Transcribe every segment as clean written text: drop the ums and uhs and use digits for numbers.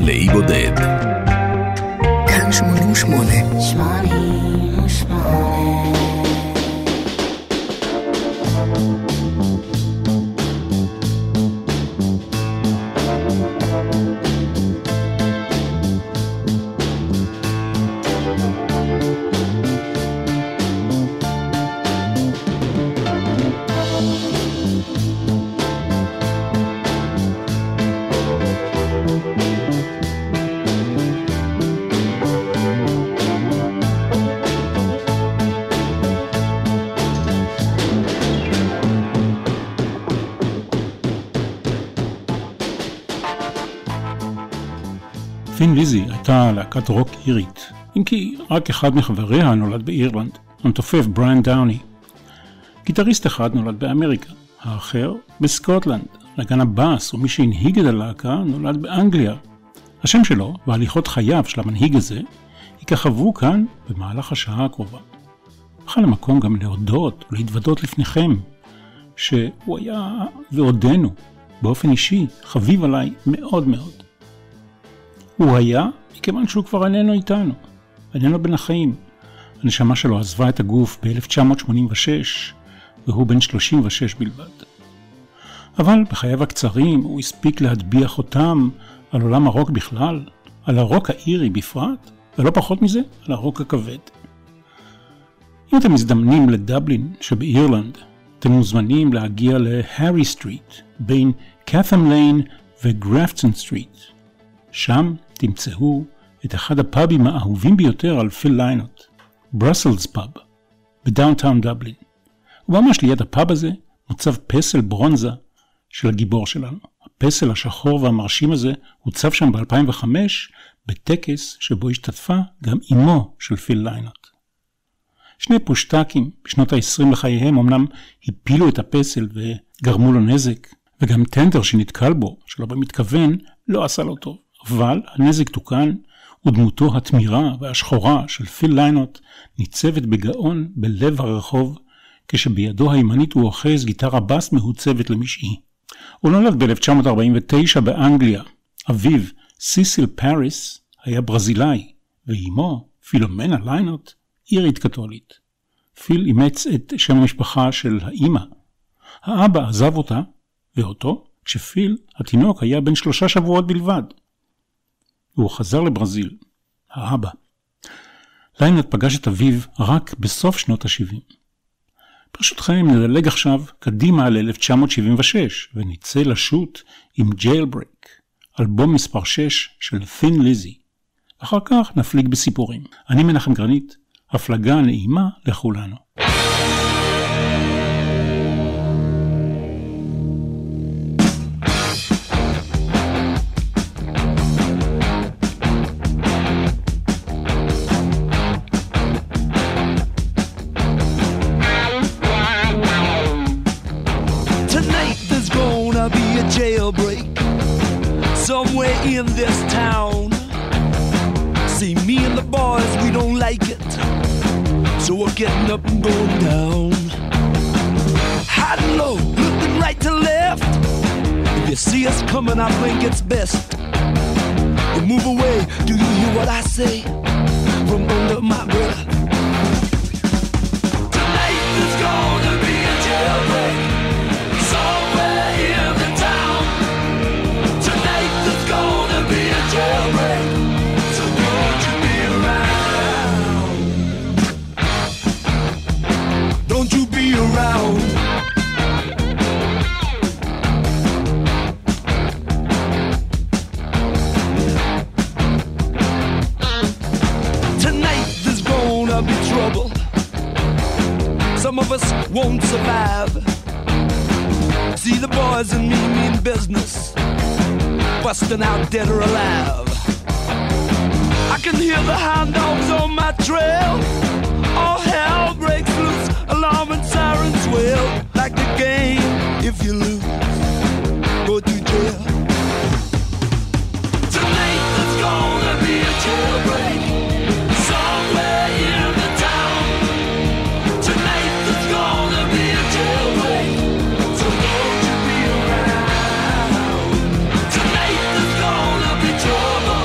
לאי בודד. כאן 88. תין ליזי הייתה להקת רוק אירית, אם כי רק אחד מחבריה נולד באירלנד, המתופף בריאן דאוני. גיטריסט אחד נולד באמריקה, האחר בסקוטלנד. נגן הבאס ומי שהנהיג את הלהקה נולד באנגליה. השם שלו והליכות חייו של המנהיג הזה יככבו כאן במהלך השעה הקרובה. בכלל המקום גם להודות ולהתוודות לפניכם שהוא היה ועודנו באופן אישי חביב עליי מאוד מאוד. הוא היה מכיוון שהוא כבר איננו איתנו, איננו בין החיים. הנשמה שלו עזבה את הגוף ב-1986 והוא בן 36 בלבד. אבל בחייו הקצרים הוא הספיק להטביע חותם על עולם הרוק בכלל, על הרוק האירי בפרט, ולא פחות מזה, על הרוק הכבד. אם אתם מזדמנים לדבלין שבאירלנד, אתם מוזמנים להגיע להרי סטריט, בין קאתם ליין וגרפטון סטריט. שם תמצאו את אחד הפאבים האהובים ביותר על פיל ליינוט, ברסלס פאב, בדאונטאון דבלין. וממש ליד הפאב הזה מוצב פסל ברונזה של הגיבור שלנו. הפסל השחור והמרשים הזה הוצב שם ב-2005 בטקס שבו השתתפה גם אמו של פיל ליינוט. שני פושטקים בשנות ה-20 לחייהם אמנם הפילו את הפסל וגרמו לו נזק, וגם טנדר שנתקל בו, שלא במתכוון, לא עשה לו טוב. אבל הנזק תוקן, ודמותו התמירה והשחורה של פיל ליינוט ניצבת בגאון בלב הרחוב, כשבידו הימנית הוא אוחז גיטרה בס מהוצבת למשעי. הוא נולד ב-1949 באנגליה. אביו, סיסיל פאריס, היה ברזילאי, ואימו, פילומנה ליינוט, אירית קתולית. פיל אימץ את שם המשפחה של האמא. האבא עזב אותה ואותו, כשפיל, התינוק, היה בן 3 שבועות בלבד. והוא חזר לברזיל, האבא. ליינוט פגש את אביו רק בסוף שנות ה-70. ברשותכם נדלג עכשיו קדימה ל-1976, ונצא לשוט עם ג'יילברייק, אלבום מספר 6 של תין ליזי. אחר כך נפליג בסיפורים. אני מנחם גרנית, הפלגה נעימה לכולנו. Jailbreak somewhere in this town. See, me and the boys, we don't like it, so we're getting up and going down. High and low, looking right to left. If you see us coming, I think it's best you move away. Do you hear what I say from under my breath? Tonight there's gonna be a jailbreak somewhere in the town. Tonight there's gonna be a jailbreak, so won't you be around? Don't you be around? Tonight there's gonna be trouble. Some of us won't survive. See the boys and me mean business, busting out dead or alive. I can hear the hound dogs on my trail. All hell breaks loose, alarm and sirens wail. Like the game, if you lose, go to jail. Tonight there's gonna be a jailbreak somewhere in the town. Tonight there's gonna be a jailbreak, so won't you be around? Tonight there's gonna be trouble.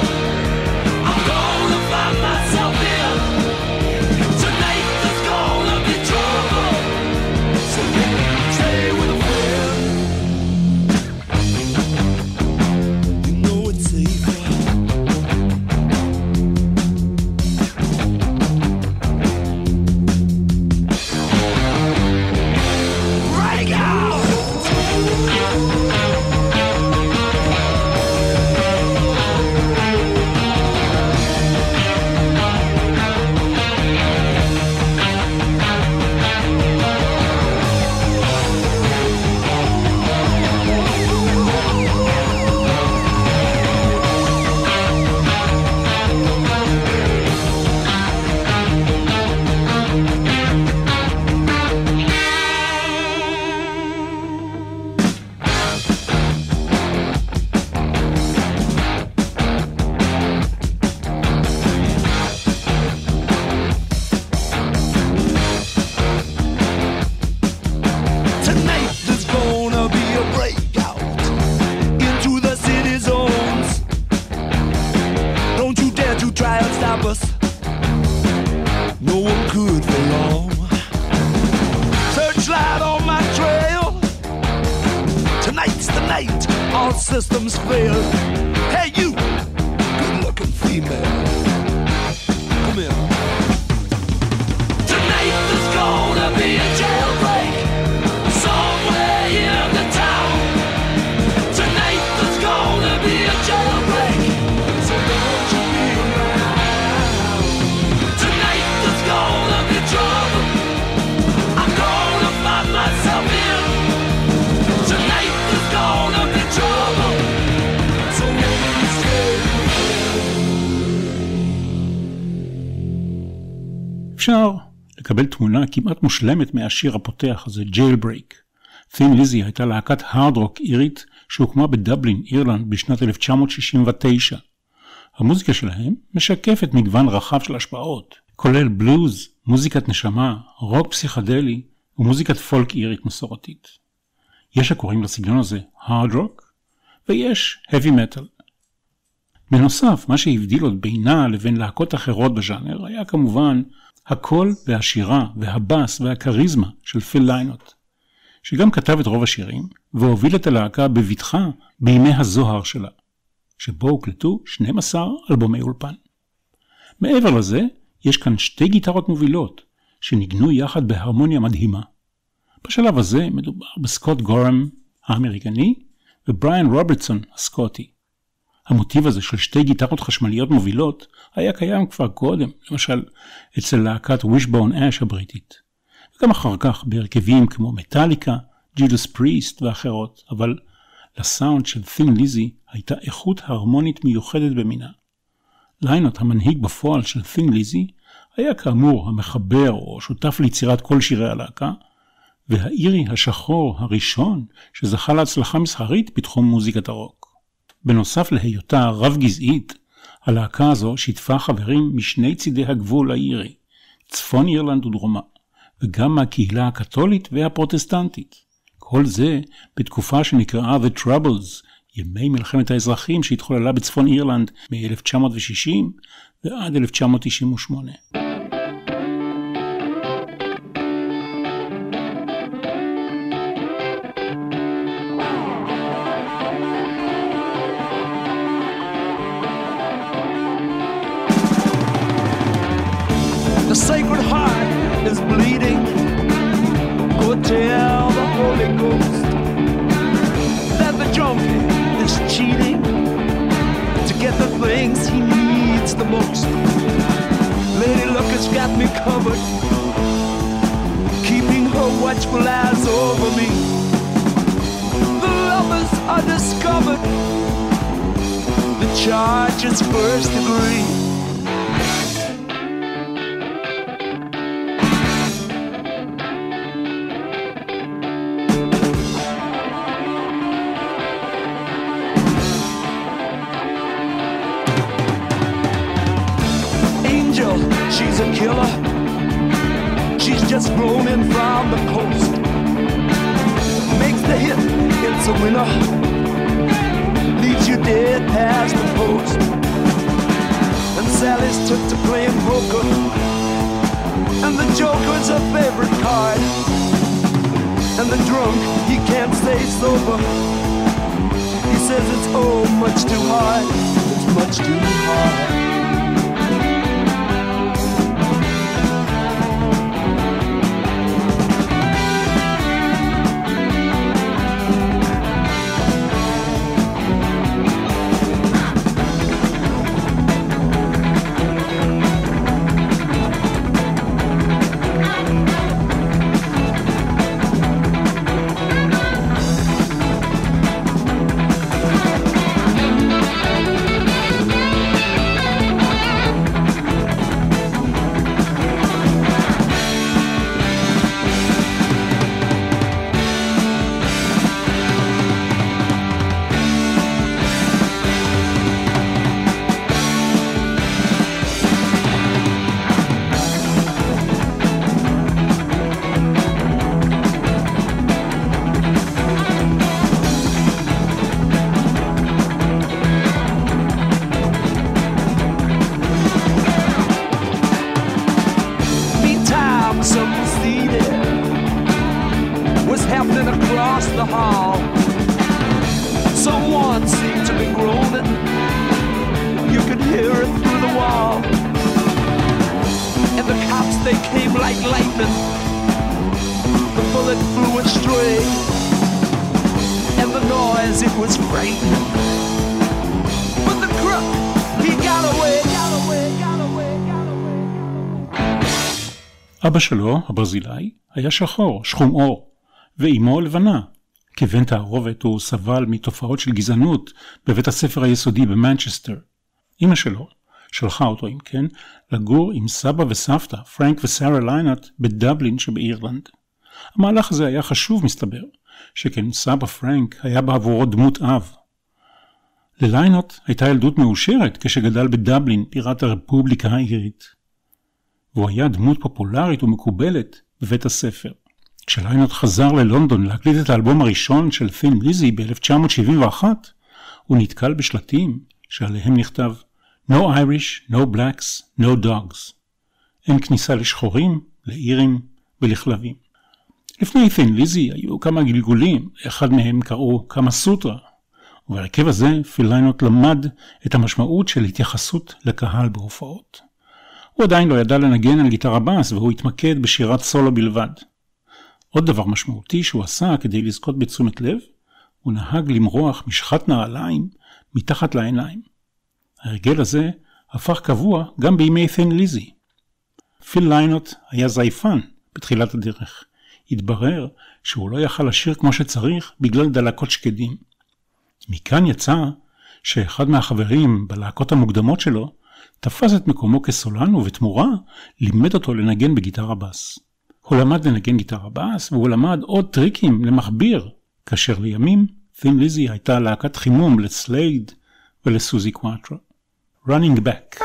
night, all systems fail. Hey, you, good-looking female, come here. Tonight there's gonna be a jailbreak somewhere in the town. Tonight there's gonna be a jailbreak, so don't you be around. Tonight there's gonna be trouble. I'm gonna find myself in. Tonight there's gonna be trouble, so don't stay. אפשר לקבל תמונה כמעט מושלמת מהשיר הפותח הזה, Jailbreak. Thin Lizzy הייתה להקת הארד רוק אירית שהוקמה בדבלין, אירלנד, בשנת 1969. המוזיקה שלהם משקפת מגוון רחב של השפעות, כולל בלוז, מוזיקת נשמה, רוק פסיכדלי ומוזיקת פולק אירית מסורתית. יש הקוראים לסגנון הזה הארד רוק, ויש heavy metal. בנוסף, מה שהבדיל עוד בינה לבין להקות אחרות בז'אנר היה כמובן הקול והשירה והבאס והקריזמה של פיל ליינוט, שגם כתב את רוב השירים והוביל את הלהקה בבטחה בימי הזוהר שלה, שבו הוקלטו 12 אלבומי אולפן. מעבר לזה, יש כאן שתי גיטרות מובילות שניגנו יחד בהרמוניה מדהימה. בשלב הזה מדובר בסקוט גורם האמריקני ובריאן רוברטסון הסקוטי. המוטיב הזה של שתי גיטרות חשמליות מובילות היה קיים כבר קודם, למשל אצל להקת Wishbone Ash הבריטית, וגם אחר כך בהרכבים כמו מטליקה, ג'ודס פריסט ואחרות, אבל לסאונד של Thin Lizzy הייתה איכות הרמונית מיוחדת במינה. ליינוט, המנהיג בפועל של Thin Lizzy, היה כאמור המחבר או שותף ליצירת כל שירי הלהקה, והאירי השחור הראשון שזכה להצלחה מסחרית בתחום מוזיקת הרוק. בנוסף להיותה רב גזעית, הלהקה הזו שיתפה חברים משני צידי הגבול האירי, צפון אירלנד ודרומה, וגם מהקהילה הקתולית והפרוטסטנטית. כל זה בתקופה שנקראה The Troubles, ימי מלחמת האזרחים שהתחוללה בצפון אירלנד מ-1960 ועד 1998. The Sacred Heart is bleeding. Go tell the Holy Ghost that the junkie is cheating to get the things he needs the most. Lady Luck has got me covered, keeping her watchful eyes over me. The lovers are discovered. The charge is first degree. She's a killer. She's just flown in from the coast. Makes the hit, it's a winner. Leaves you dead past the post. And Sally's took to playing poker, and the joker's her favorite card. And the drunk, he can't stay sober. He says it's oh much too hard. It's much too hard. came like lightning. The bullet flew astray, and the noise, it was frightening. But the crook, he got away, got away, got away, got away. אבא שלו, הברזילאי, היה שחור, שחום אור, ואימו לבנה. כבן תערובת הוא סבל מתופעות של גזענות בבית הספר היסודי במנצ'סטר. אמא שלו שלחה אותו, אם כן, לגור עם סבא וסבתא, פרנק וסרה ליינוט, בדבלין שבאירלנד. המהלך הזה היה חשוב, מסתבר, שכן סבא פרנק היה בעבורו דמות אב. לליינוט הייתה ילדות מאושרת כשגדל בדבלין, בירת הרפובליקה האירית. והוא היה דמות פופולרית ומקובלת בבית הספר. כשליינוט חזר ללונדון להקליט את האלבום הראשון של Thin Lizzy ב-1971, הוא נתקל בשלטים שעליהם נכתב No Irish, no blacks, no dogs. אין כניסה לשחורים, לאירים ולכלבים. לפני Thin Lizzy היו כמה גלגולים, אחד מהם קראו כמה סוטרה, ובהרכב הזה פיל ליינוט למד את המשמעות של התייחסות לקהל בהופעות. הוא עדיין לא ידע לנגן על גיטרה בס, והוא התמקד בשירת סולו בלבד. עוד דבר משמעותי שהוא עשה כדי לזכות בתשומת לב, הוא נהג למרוח משחת נעליים מתחת לעיניים. ההרגל הזה הפך קבוע גם בימי Thin Lizzy. פיל ליינוט היה זייפן בתחילת הדרך. התברר שהוא לא יכל לשיר כמו שצריך בגלל דלקות שקדים. מכאן יצא שאחד מהחברים בלהקות המוקדמות שלו תפס את מקומו כסולן, ובתמורה לימד אותו לנגן בגיטרה בס. הוא למד לנגן גיטרה בס, והוא למד עוד טריקים למחביר, כאשר לימים Thin Lizzy הייתה להקת חימום לסלייד ולסוזי קואטרו. Running Back.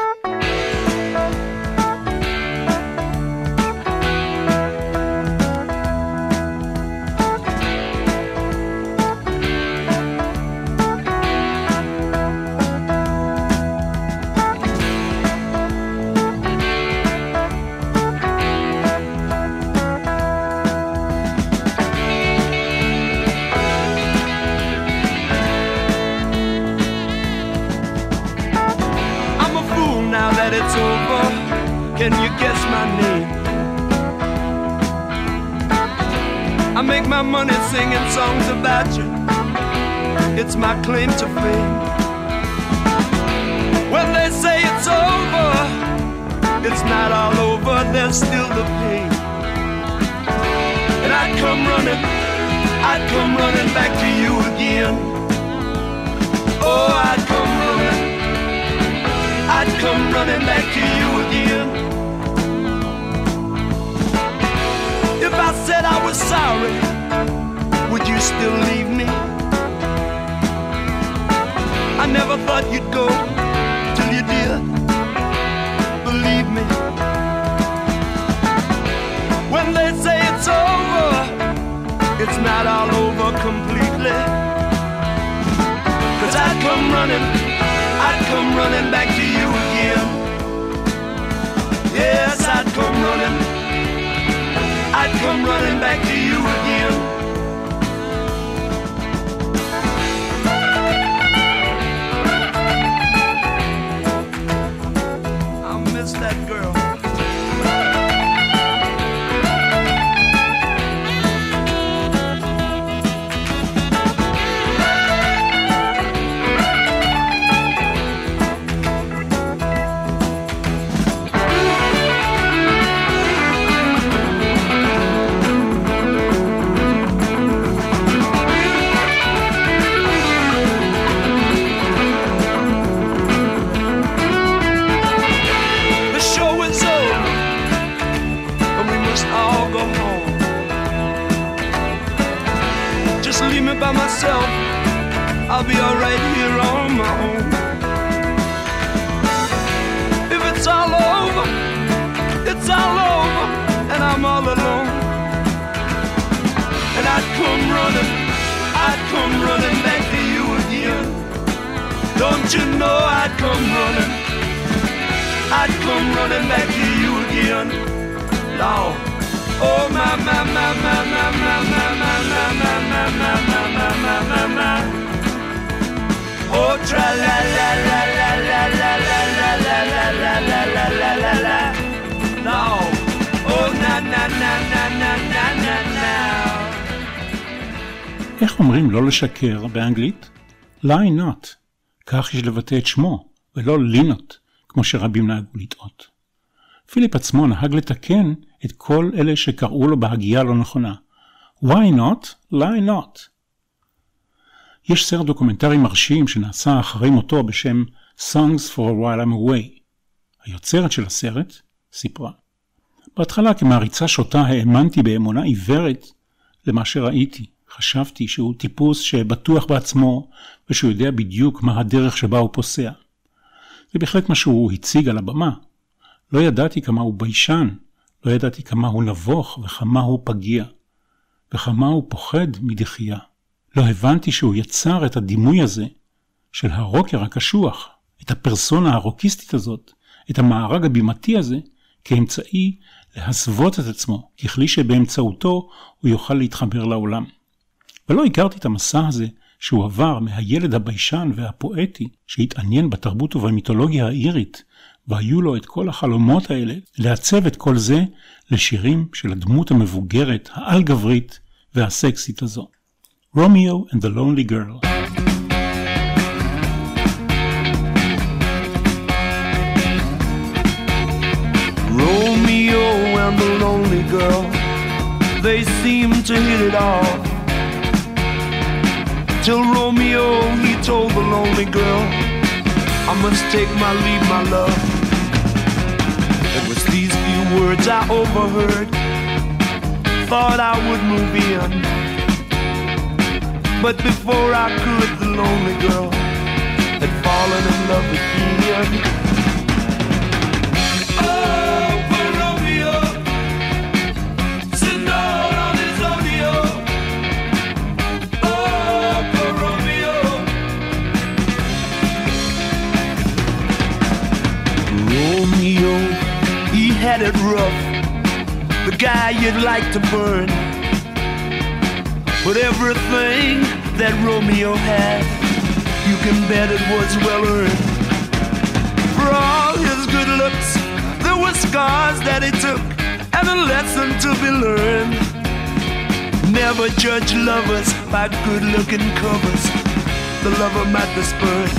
It's over. Can you guess my name? I make my money singing songs about you. It's my claim to fame. When they say it's over, it's not all over. There's still the pain. And I'd come running back to you again. Oh, I'd come running back to you again. If I said I was sorry, would you still leave me? I never thought you'd go till you did. Believe me. When they say it's over, it's not all over completely. 'Cause I'd come running back to you again. Yes, I'd come running back to you again. I miss that girl. By myself, I'll be alright here on my own. If it's all over, it's all over, and I'm all alone. And I'd come running back to you again. Don't you know I'd come running back to you again. Lord. Oh my my my my my my my my my my my my my my my my. Oh tra la la la la la la la la la la la la la la la. No. Oh איך אומרים לא לשקר באנגלית? lie not. כך יש לבטא את שמו, ולא לינות, כמו שרבים נהגו לטעות. פיליפ עצמו נהג לתקן את כל אלה שקראו לו בהגייה לא נכונה. Why not? lie not. יש סרט דוקומנטרי מרשים שנעשה אחרי מותו בשם Songs for a While I'm Away. היוצרת של הסרט סיפרה. בהתחלה כמעריצה שוטה האמנתי באמונה עיוורת למה שראיתי. חשבתי שהוא טיפוס שבטוח בעצמו ושהוא יודע בדיוק מה הדרך שבה הוא פוסע. זה בהחלט מה שהוא הציג על הבמה. לא ידעתי כמה הוא ביישן, לא ידעתי כמה הוא נבוך וכמה הוא פגיע, וכמה הוא פוחד מדחייה. לא הבנתי שהוא יצר את הדימוי הזה של הרוקר הקשוח, את הפרסונה הרוקיסטית הזאת, את המארג הבימתי הזה, כאמצעי להסוות את עצמו, ככלי שבאמצעותו הוא יוכל להתחבר לעולם. ולא הכרתי את המסע הזה שהוא עבר מהילד הביישן והפואטי שהתעניין בתרבות ובמיתולוגיה האירית, והיו לו את כל החלומות האלה לעצב את כל זה לשירים של הדמות המבוגרת, העל גברית והסקסית הזו. Romeo and the Lonely Girl. Romeo and the lonely girl, they seem to hit it off. Till Romeo, he told the lonely girl, I must take my leave, my love. It was these few words I overheard, thought I would move in. But before I could, the lonely girl had fallen in love again. Had it rough, the guy you'd like to burn. But everything that Romeo had, you can bet it was well earned. For all his good looks, there were scars that he took, and a lesson to be learned. Never judge lovers by good-looking covers. The lover might be spurned.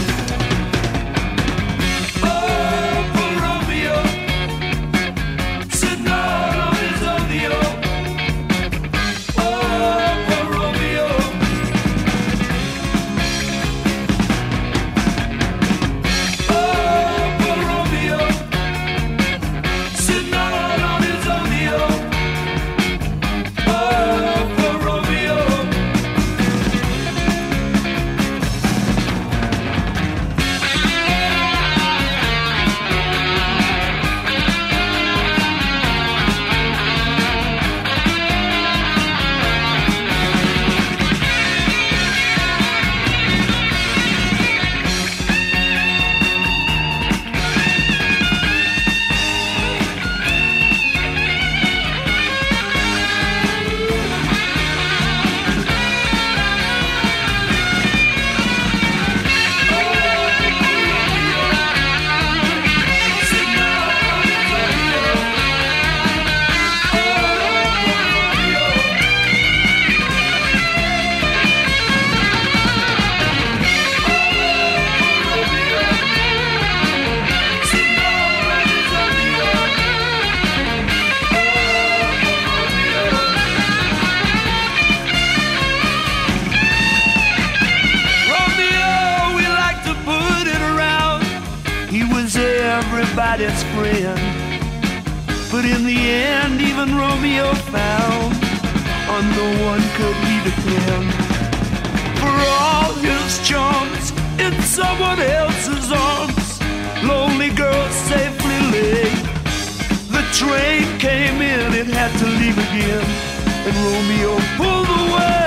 Everybody's friend, but in the end even Romeo found on no one could he depend. For all his charms in someone else's arms, lonely girl safely lay. The train came in, it had to leave again, and Romeo pulled away.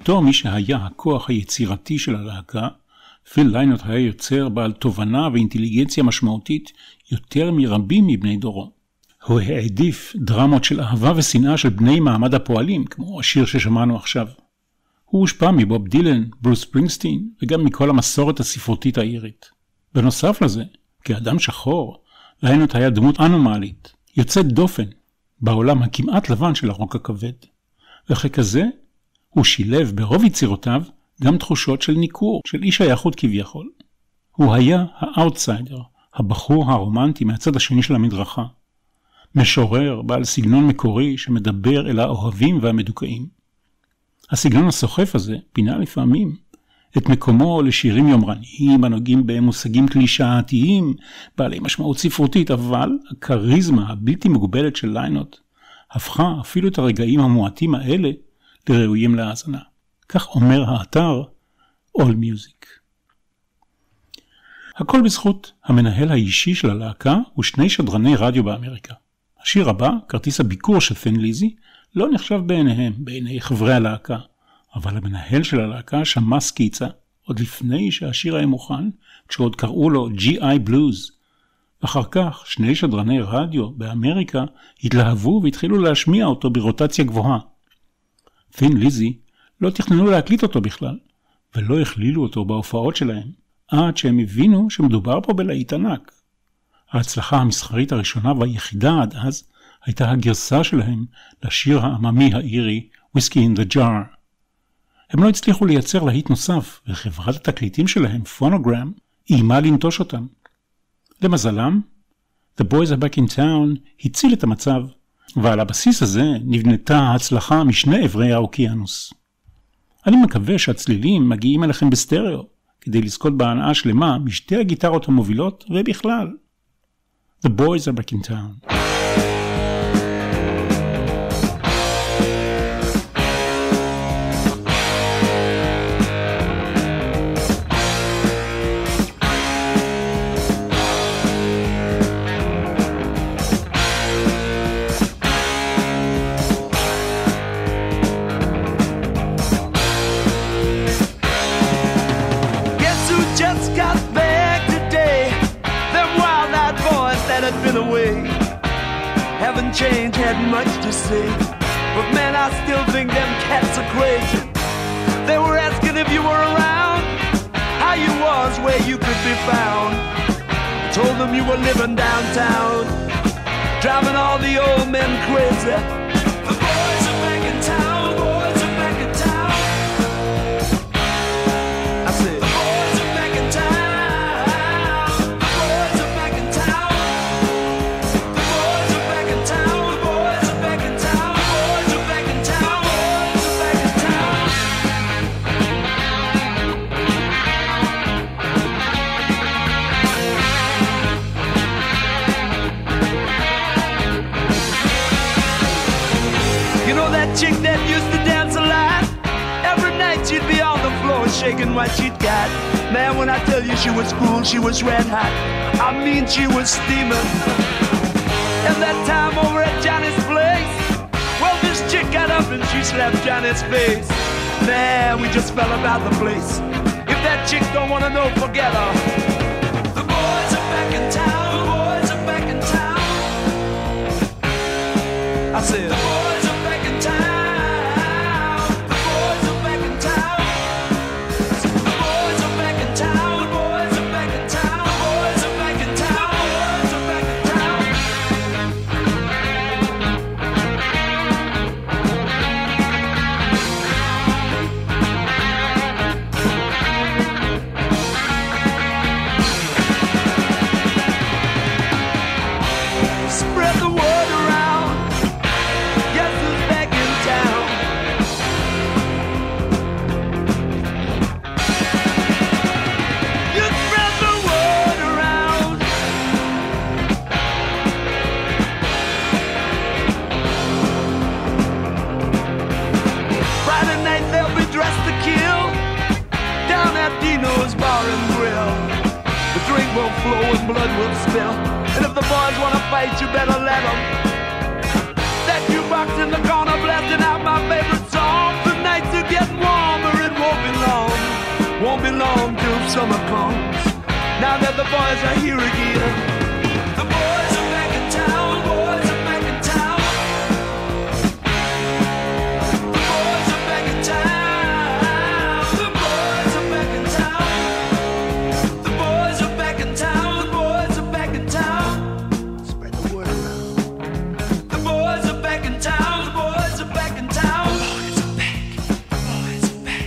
בתור מי שהיה הכוח היצירתי של הלהקה, פיל ליינוט היה יוצר בעל תובנה ואינטליגנציה משמעותית יותר מרבים מבני דורו. הוא העדיף דרמות של אהבה ושנאה של בני מעמד הפועלים, כמו השיר ששמענו עכשיו. הוא הושפע מבוב דילן, ברוס ספרינגסטין, וגם מכל המסורת הספרותית האירית. בנוסף לזה, כאדם שחור, ליינוט היה דמות אנומלית, יוצאת דופן, בעולם הכמעט לבן של הרוק הכבד. וככזה, הוא שילב ברוב יצירותיו גם תחושות של ניכור, של איש היחוד כביכול. הוא היה האוטסיידר, הבחור הרומנטי מהצד השני של המדרכה. משורר בעל סגנון מקורי שמדבר אל האוהבים והמדוכאים. הסגנון הסוחף הזה פינה לפעמים את מקומו לשירים יומרניים הנוגעים במושגים קלישאתיים, בעלי משמעות ספרותית, אבל הכריזמה הבלתי מוגבלת של ליינוט הפכה אפילו את הרגעים המועטים האלה לראויים להאזנה. כך אומר האתר All Music. הכל בזכות המנהל האישי של הלהקה ושני שדרני רדיו באמריקה. השיר הבא, כרטיס הביקור של ת'ין ליזי, לא נחשב בעיניהם, בעיני חברי הלהקה, אבל המנהל של הלהקה שמע סקיצה, עוד לפני שהשיר היה מוכן, כשעוד קראו לו G.I. Blues. אחר כך, שני שדרני רדיו באמריקה התלהבו והתחילו להשמיע אותו ברוטציה גבוהה. ת'ין ליזי לא תכננו להקליט אותו בכלל, ולא הכלילו אותו בהופעות שלהם, עד שהם הבינו שמדובר פה בלהיט ענק. ההצלחה המסחרית הראשונה והיחידה עד אז הייתה הגרסה שלהם לשיר העממי האירי Whiskey in the Jar. הם לא הצליחו לייצר להיט נוסף, וחברת התקליטים שלהם, פונוגרם, איימה לנטוש אותם. למזלם, The Boys Are Back in Town הציל את המצב, ועל הבסיס הזה נבנתה ההצלחה משני עברי האוקיינוס. אני מקווה שהצלילים מגיעים אליכם בסטריאו, כדי לזכות בהנאה שלמה משתי הגיטרות המובילות ובכלל. The Boys Are Back in Town. Change had much to say, but man, I still think them cats are crazy. They were asking if you were around, how you was, where you could be found. Told them you were living downtown, driving all the old men crazy. The boys are back in town, boys are back in town. I said, the boys are back in town, the boys are back in town. The boys are back in town. Chick that used to dance a lot, every night she'd be on the floor shaking what she'd got. Man, when I tell you she was cool, she was red hot. I mean, she was steaming. And that time over at Johnny's place, well, this chick got up and she slapped Johnny's face. Man, we just fell about the place. If that chick don't want to know, forget her. The boys are back in town, the boys are back in town. I said, the boys are back in town. Blood will spill, and if the boys want to fight, you better let them. That jukebox in the corner blasting out my favorite song. The nights are getting warmer summer comes. Now that the boys are here again. The boys are back in town, boys are back in town. The boys are back in town. The boys are back in town. The boys are back in town. The boys are back in town. Spread the word around. The boys are back in town. The boys are back in town. Boys are back. Boys are back.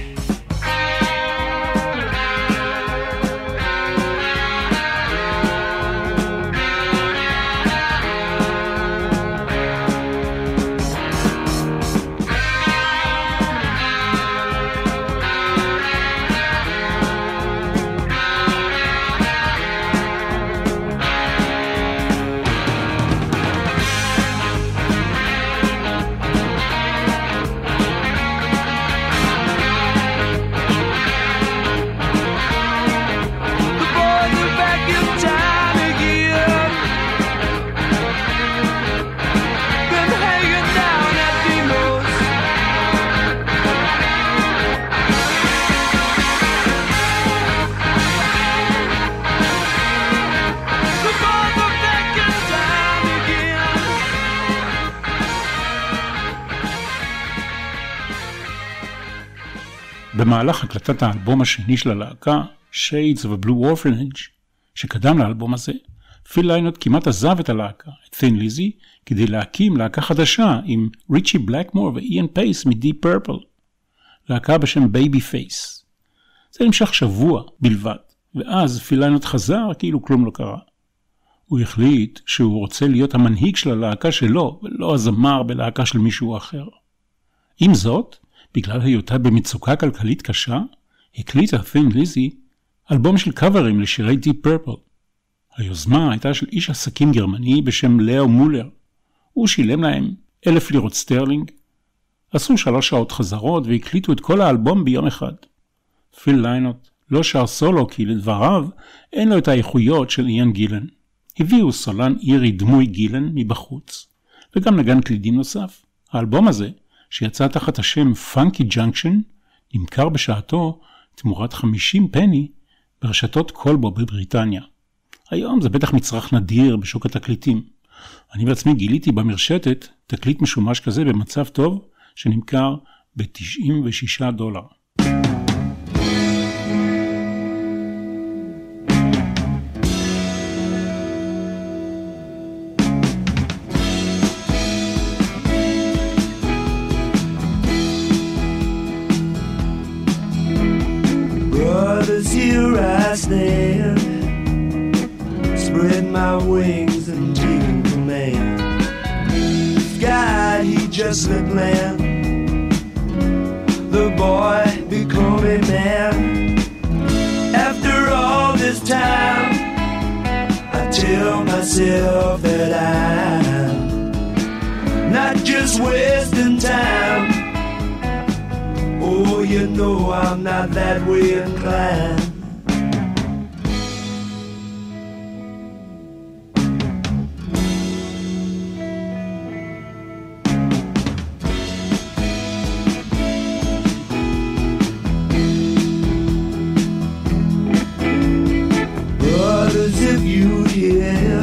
במהלך הקלטת האלבום השני של הלהקה, Shades of a Blue Orphanage, שקדם לאלבום הזה, פיל ליינוט כמעט עזב את הלהקה, את Thin Lizzy, כדי להקים להקה חדשה עם ריצ'י בלקמור ואיאן פייס מ-Deep Purple, להקה בשם Baby Face. זה נמשך שבוע בלבד, ואז פיל ליינוט חזר כאילו כלום לא קרה. הוא החליט שהוא רוצה להיות המנהיג של הלהקה שלו, ולא הזמר בלהקה של מישהו אחר. עם זאת, בגלל היותה במצוקה כלכלית קשה, הקליטה Thin Lizzy אלבום של קאברים לשירי Deep Purple. היוזמה הייתה של איש עסקים גרמני בשם לאו מולר. הוא שילם להם 1,000 לירות סטרלינג. עשו 3 שעות חזרות והקליטו את כל האלבום ביום אחד. פיל ליינוט לא שר סולו כי לדבריו אין לו את האיכויות של איאן גילן. הביאו סולן אירי דמוי גילן מבחוץ, וגם נגן קלידים נוסף. האלבום הזה, שיצא תחת השם Funky Junction, נמכר בשעתו תמורת 50 פני ברשתות קולבו בבריטניה. היום זה בטח מצרך נדיר בשוק התקליטים. אני בעצמי גיליתי במרשתת תקליט משומש כזה במצב טוב שנמכר $96. Here I stand, spread my wings and take command. God, he just let land. The boy become a man. After all this time, I tell myself that I'm not just wasting time. Oh, you know I'm not that way inclined. Brothers, if you hear,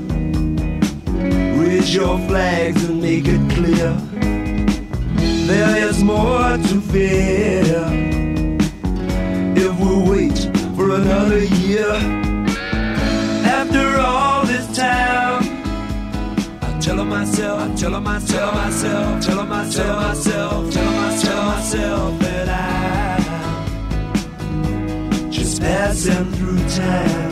raise your flags and make it clear. There is more to fear if we wait for another year. After all this time, I tell myself that I'm just passing through time.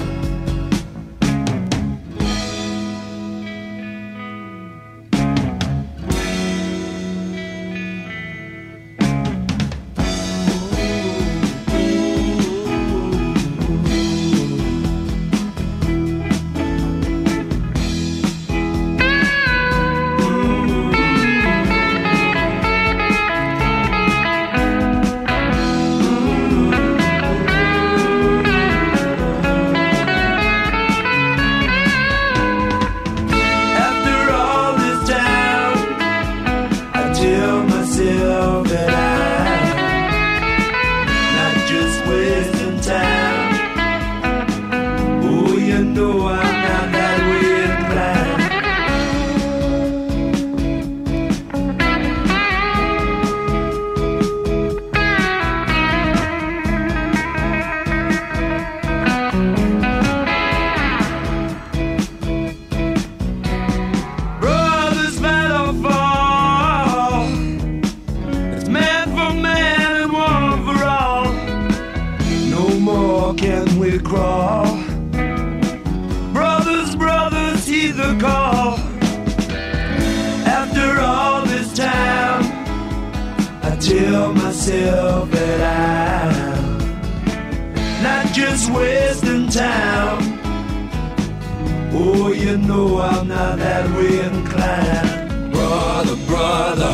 crawl. Brothers, brothers, heed the call. After all this time, I tell myself that I'm not just wasting time. Oh, you know I'm not that way inclined. Brother, brother,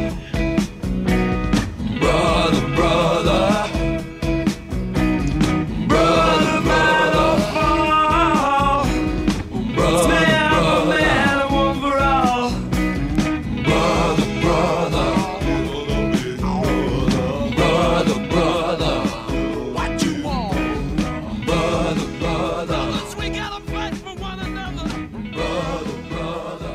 brother, brother, brother by the fall, brother, man for man and one for all. Brother, brother, brother, brother, what you want? Brother, brother, we gotta fight for one another. Brother, brother,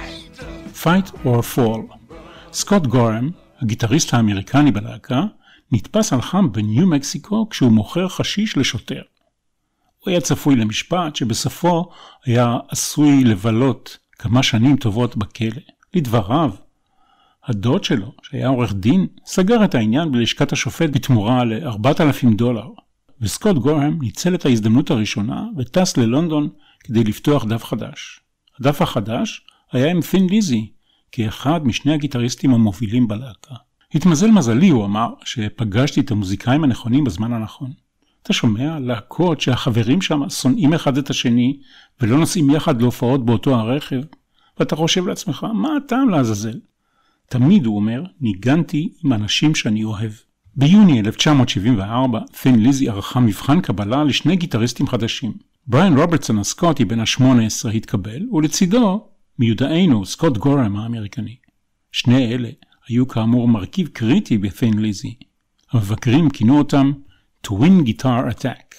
Fight or Fall. סקוט גורם, הגיטריסט האמריקני בלהקה, נתפס על חם בניו מקסיקו כשהוא מוכר חשיש לשוטר. הוא היה צפוי למשפט שבסופו היה עשוי לבלות כמה שנים טובות בכלא. לדבריו, הדוד שלו, שהיה עורך דין, סגר את העניין בלשכת השופט בתמורה $4,000, וסקוט גורם ניצל את ההזדמנות הראשונה וטס ללונדון כדי לפתוח דף חדש. הדף החדש היה עם ת'ין ליזי, כאחד משני הגיטריסטים המובילים בלהקה. התמזל מזלי, הוא אמר, שפגשתי את המוזיקאים הנכונים בזמן הנכון. אתה שומע להקות שהחברים שם שונאים אחד את השני, ולא נוסעים יחד להופעות באותו הרכב, ואתה חושב לעצמך, מה הטעם לעזאזל? תמיד, הוא אומר, ניגנתי עם אנשים שאני אוהב. ביוני 1974, ת'ין ליזי ערכה מבחן קבלה לשני גיטריסטים חדשים. בריאן רוברטסון הסקוטי בן ה-18 התקבל, ולצידו מיודענו סקוט גורם האמריקני. שני אלה היו כאמור מרכיב קריטי בת'ין ליזי. המבקרים כינו אותם Twin Guitar Attack.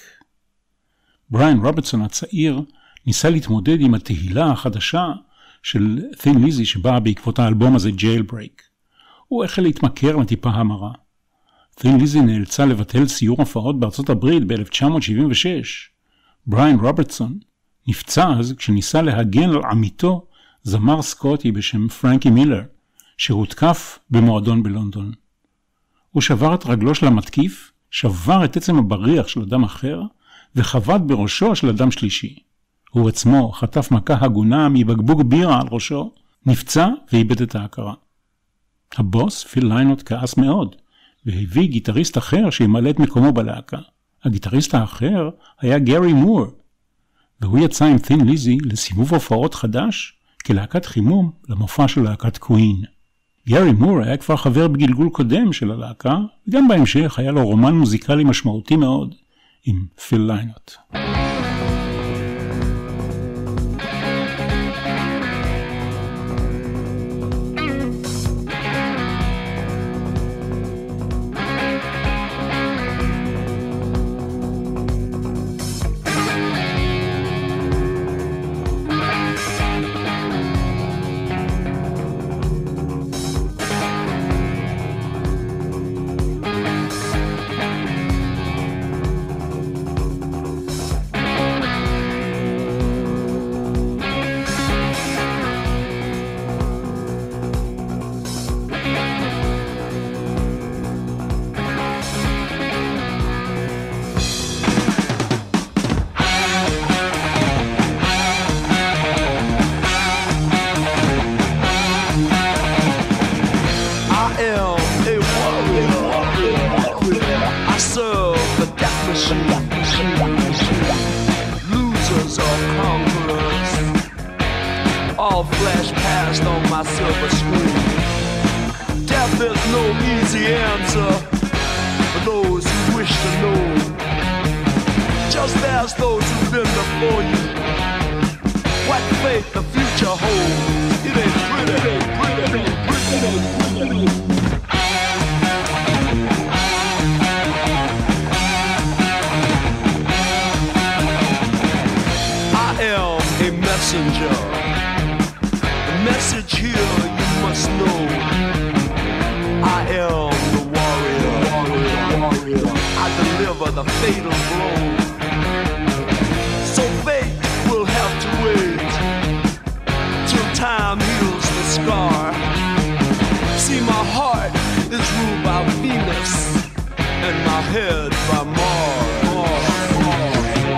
בריאן רוברטסון הצעיר ניסה להתמודד עם התהילה החדשה של ת'ין ליזי שבאה בעקבות האלבום הזה Jailbreak. הוא החל להתמכר לטיפה המרה. ת'ין ליזי נאלצה לבטל סיור הופעות בארצות הברית ב-1976. בריאן רוברטסון נפצע אז כשניסה להגן על עמיתו זמר סקוטי בשם פרנקי מילר, שהותקף במועדון בלונדון. הוא שבר את רגלו של המתקיף, שבר את עצם הבריח של אדם אחר, וחבט בראשו של אדם שלישי. הוא עצמו חטף מכה הגונה מבקבוק בירה על ראשו, נפצע ואיבד את ההכרה. הבוס פיל ליינוט כעס מאוד, והביא גיטריסט אחר שימלא את מקומו בלהקה. הגיטריסט האחר היה גרי מור, והוא יצא עם ת'ין ליזי לסיבוב הופעות חדש, כלהקת חימום למופע של להקת קווין. גרי מור היה כבר חבר בגלגול קודם של הלהקה, וגם בהמשך היה לו רומן מוזיקלי משמעותי מאוד עם פיל ליינוט. Losers or conquerors, all flash past on my silver screen. Death is no easy answer for those who wish to know. Just ask those who've been before you what fate the future holds. It ain't pretty, it ain't pretty, it ain't pretty, it ain't pretty. Messenger. The message here you must know. I am the warrior. I deliver the fatal blow. So fate will have to wait till time heals the scar. See, my heart is ruled by Venus and my head by Mars.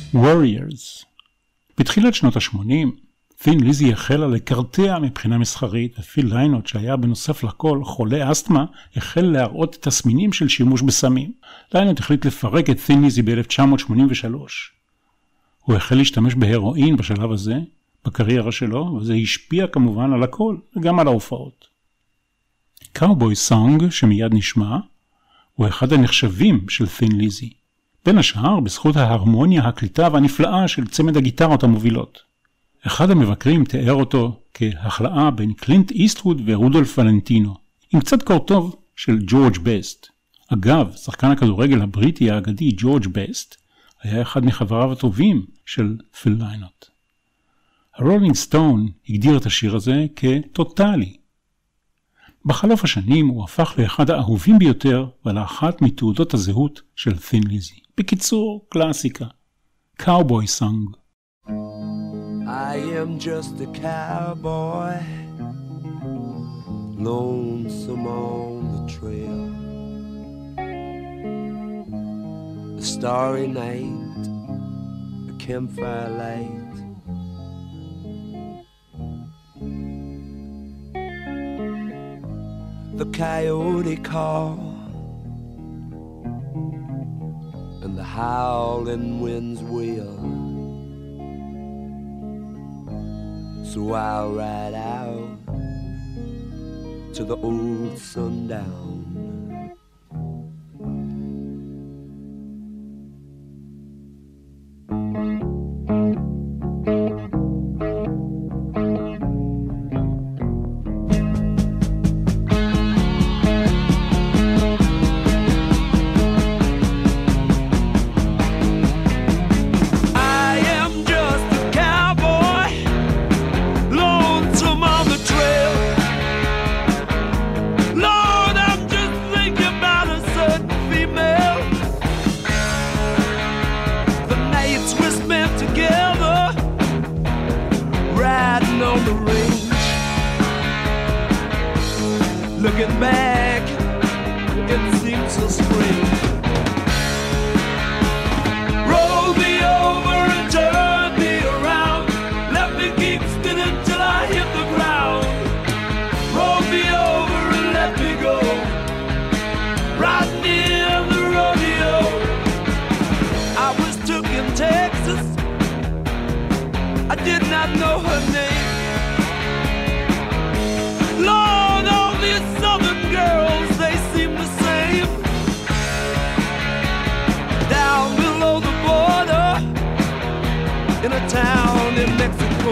Warriors. בתחילת שנות ה-80, תין ליזי החלה לקרטע מבחינה מסחרית, ופיל ליינוט שהיה בנוסף לכל חולה אסתמה, החל להראות תסמינים של שימוש בסמים. ליינוט החליט לפרק את תין ליזי ב-1983. הוא החל להשתמש בהרואין בשלב הזה, בקריירה שלו, וזה השפיע כמובן על הכל, וגם על ההופעות. קאובוי סונג, שמיד נשמע, הוא אחד הנחשבים של תין ליזי. בין השאר, בזכות ההרמוניה הקליטה והנפלאה של צמד הגיטרות המובילות. אחד המבקרים תיאר אותו כהחלאה בין קלינט איסטווד ורודולף ולנטינו, עם קצת קור טוב של ג'ורג' בסט. אגב, שחקן הכדורגל הבריטי האגדי ג'ורג' בסט, היה אחד מחבריו הטובים של פיל ליינוט. הרולינג סטון הגדיר את השיר הזה כטוטלי. בחלוף השנים הוא הפך לאחד האהובים ביותר ולאחת מתעודות הזהות של תין ליזי. בקיצור, קלאסיקה. קאובוי סונג. I am just a cowboy, lonesome on the trail. A starry night, a campfire light. The coyote call and the howling winds wail. So I'll ride out to the old sundown. Looking back, it seems so strange. Roll me over and turn me around. Let me keep spinning till I hit the ground. Roll me over and let me go. Riding in the rodeo. I was took in Texas. I did not know her name. Lord, all these southern girls, they seem the same. Down below the border, in a town in Mexico,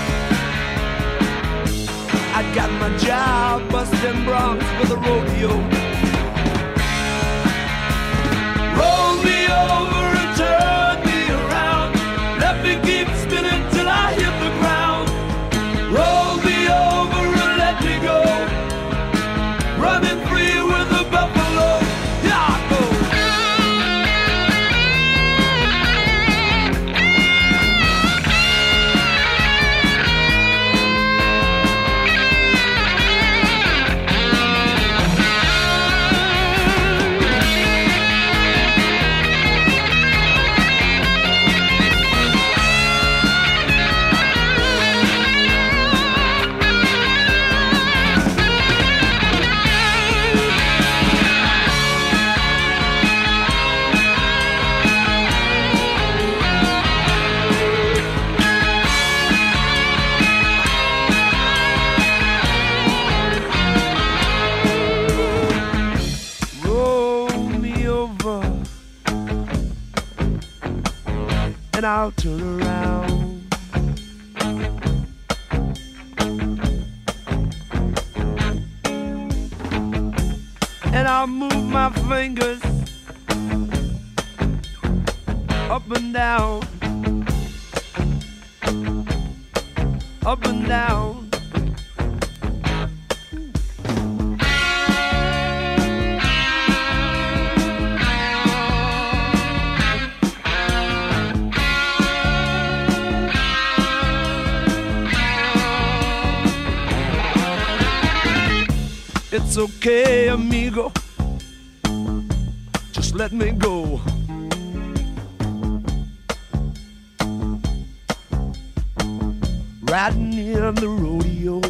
I got my job busting broncs for the rodeo. Roll me over and turn me around. Let me keep spinning till I hit the ground. Roll me over and let me go. Running free with the buffalo. Here I go. And I'll turn around. And I'll move my fingers up and down, up and down. It's okay, amigo, just let me go. riding in the rodeo.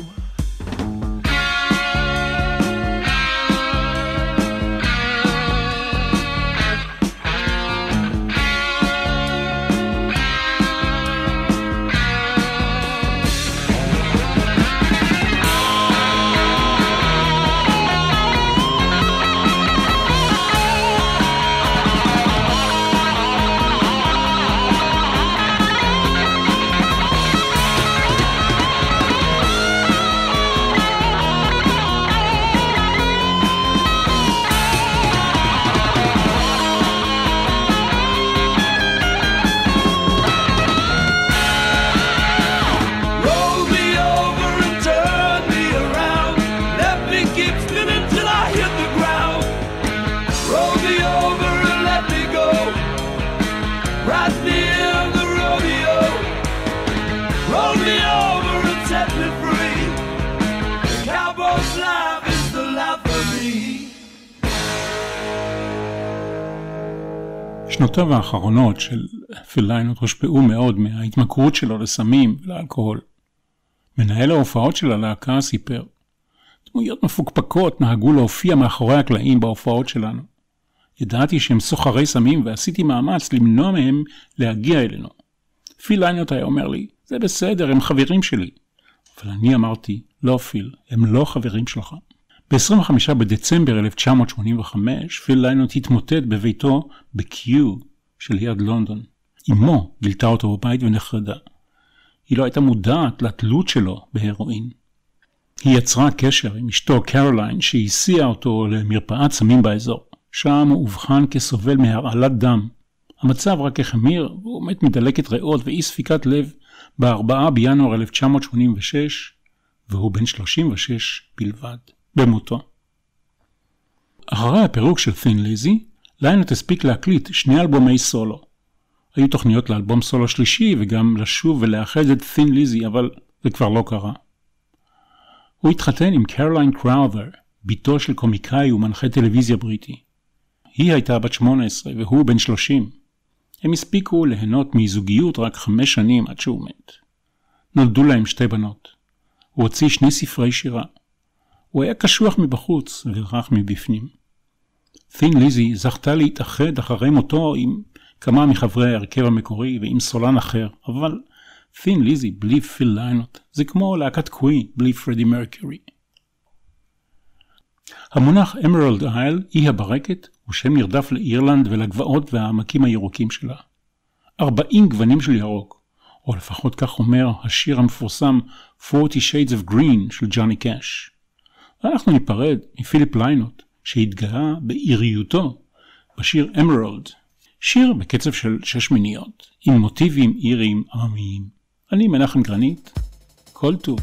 שנותיו האחרונות של פיל ליינוט הושפעו מאוד מההתמכרות שלו לסמים ולאלכוהול. מנהל ההופעות של הלהקה סיפר, דמויות מפוקפקות נהגו להופיע מאחורי הקלעים בהופעות שלנו. ידעתי שהם סוחרי סמים ועשיתי מאמץ למנוע מהם להגיע אלינו. פיל ליינוט היה אומר לי, זה בסדר, הם חברים שלי. אבל אני אמרתי, לא פיל, הם לא חברים שלך. ב-25 בדצמבר 1985, פיל ליינוט התמוטט בביתו בקיו שליד לונדון. אמו גילתה אותו בבית ונחרדה. היא לא הייתה מודעת לתלות שלו בהרואין. היא יצרה קשר עם אשתו קרוליין שהסיעה אותו למרפאת סמים באזור. שם הוא אובחן כסובל מהרעלת דם. המצב רק החמיר והוא מת מדלקת ריאות ואי ספיקת לב ב-4 בינואר 1986, והוא בן 36 בלבד. במותו. אחרי הפירוק של Thin Lizzy, ליינוט הספיק להקליט 2 אלבומי סולו. היו תוכניות לאלבום סולו שלישי וגם לשוב ולאחד את Thin Lizzy, אבל זה כבר לא קרה. הוא התחתן עם קרוליין קראותר, ביתו של קומיקאי ומנחה טלוויזיה בריטי. היא הייתה בת 18 והוא בן 30. הם הספיקו ליהנות מזוגיות רק 5 שנים עד שהוא מת. נולדו להם 2 בנות. הוא הוציא 2 ספרי שירה. הוא היה קשוח מבחוץ ורך מבפנים. Thin Lizzy זכתה להתאחד אחרי מותו עם כמה מחברי ההרכב המקורי ועם סולן אחר, אבל Thin Lizzy בלי פיל ליינוט זה כמו להקת קווין בלי פרדי מרקיורי. המונח אמרלד אייל, אי הברקת, הוא שם נרדף לאירלנד ולגבעות והעמקים הירוקים שלה. 40 גוונים של ירוק, או לפחות כך אומר השיר המפורסם 40 Shades of Green של ג'וני קאש. ואנחנו ניפרד מפיליפ ליינוט שהתגאה בעיריותו בשיר אמרלד, שיר בקצב של 6 מיניות, עם מוטיבים איריים עממיים. אני מנחם גרנית, כל טוב.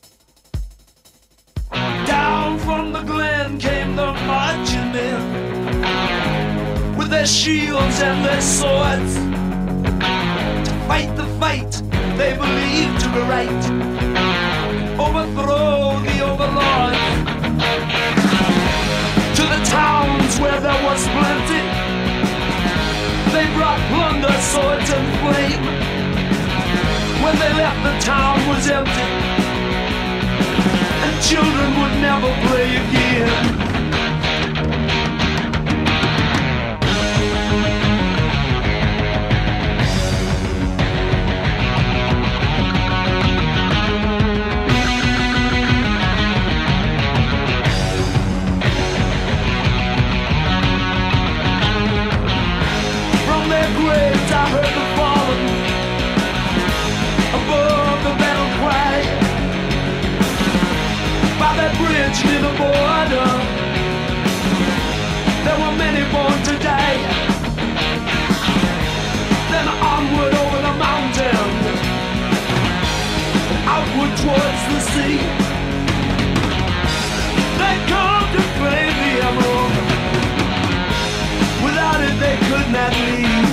Down from the glen came the marching men with their shields and their swords to fight the fight they believed to be right, overthrow the overlords. To the towns where there was plenty they brought plunder, swords and flame. When they left, the town was empty and children would never play again. From their graves I heard the fallen above the battle cry. By that bridge near the border there were many born to die. Then onward over the mountain and outward towards the sea they come to claim the emerald. Without it they could not leave.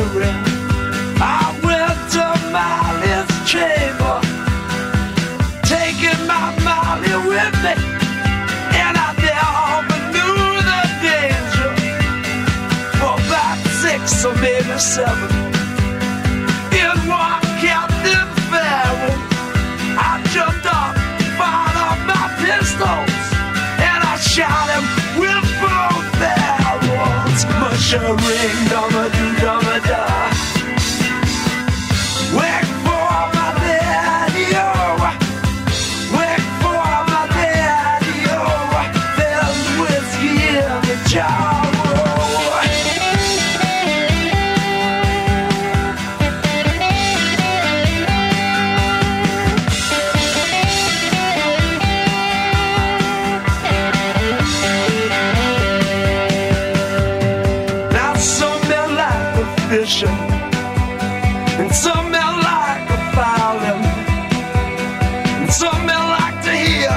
ring. I went to Molly's chamber, taking my Molly with me, and I never knew the danger. For about 6 or maybe 7, in one Captain Farrell, I jumped up, fired up my pistols, and I shot him with both barrels. Mushering, dumma-doo-dumma-da. Wake for my daddy-o, wake for my daddy-o. There's whiskey in the jar. And some men like a violin, and some men like to hear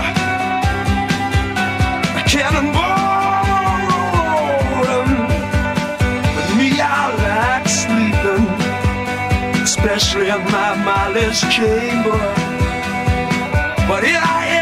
a cannonball rolling. But me, I like sleeping, especially in my Molly's chamber. But here I